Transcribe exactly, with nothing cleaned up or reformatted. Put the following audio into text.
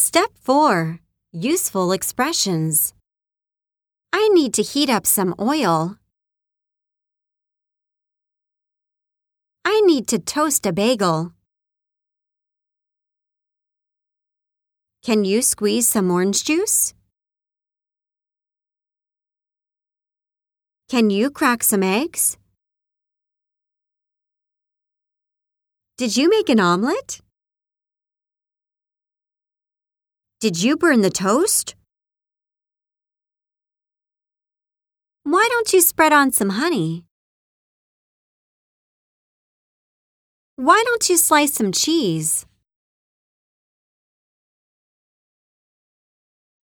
Step four. Useful expressions. I need to heat up some oil. I need to toast a bagel. Can you squeeze some orange juice? Can you crack some eggs? Did you make an omelet? Did you burn the toast? Why don't you spread on some honey? Why don't you slice some cheese?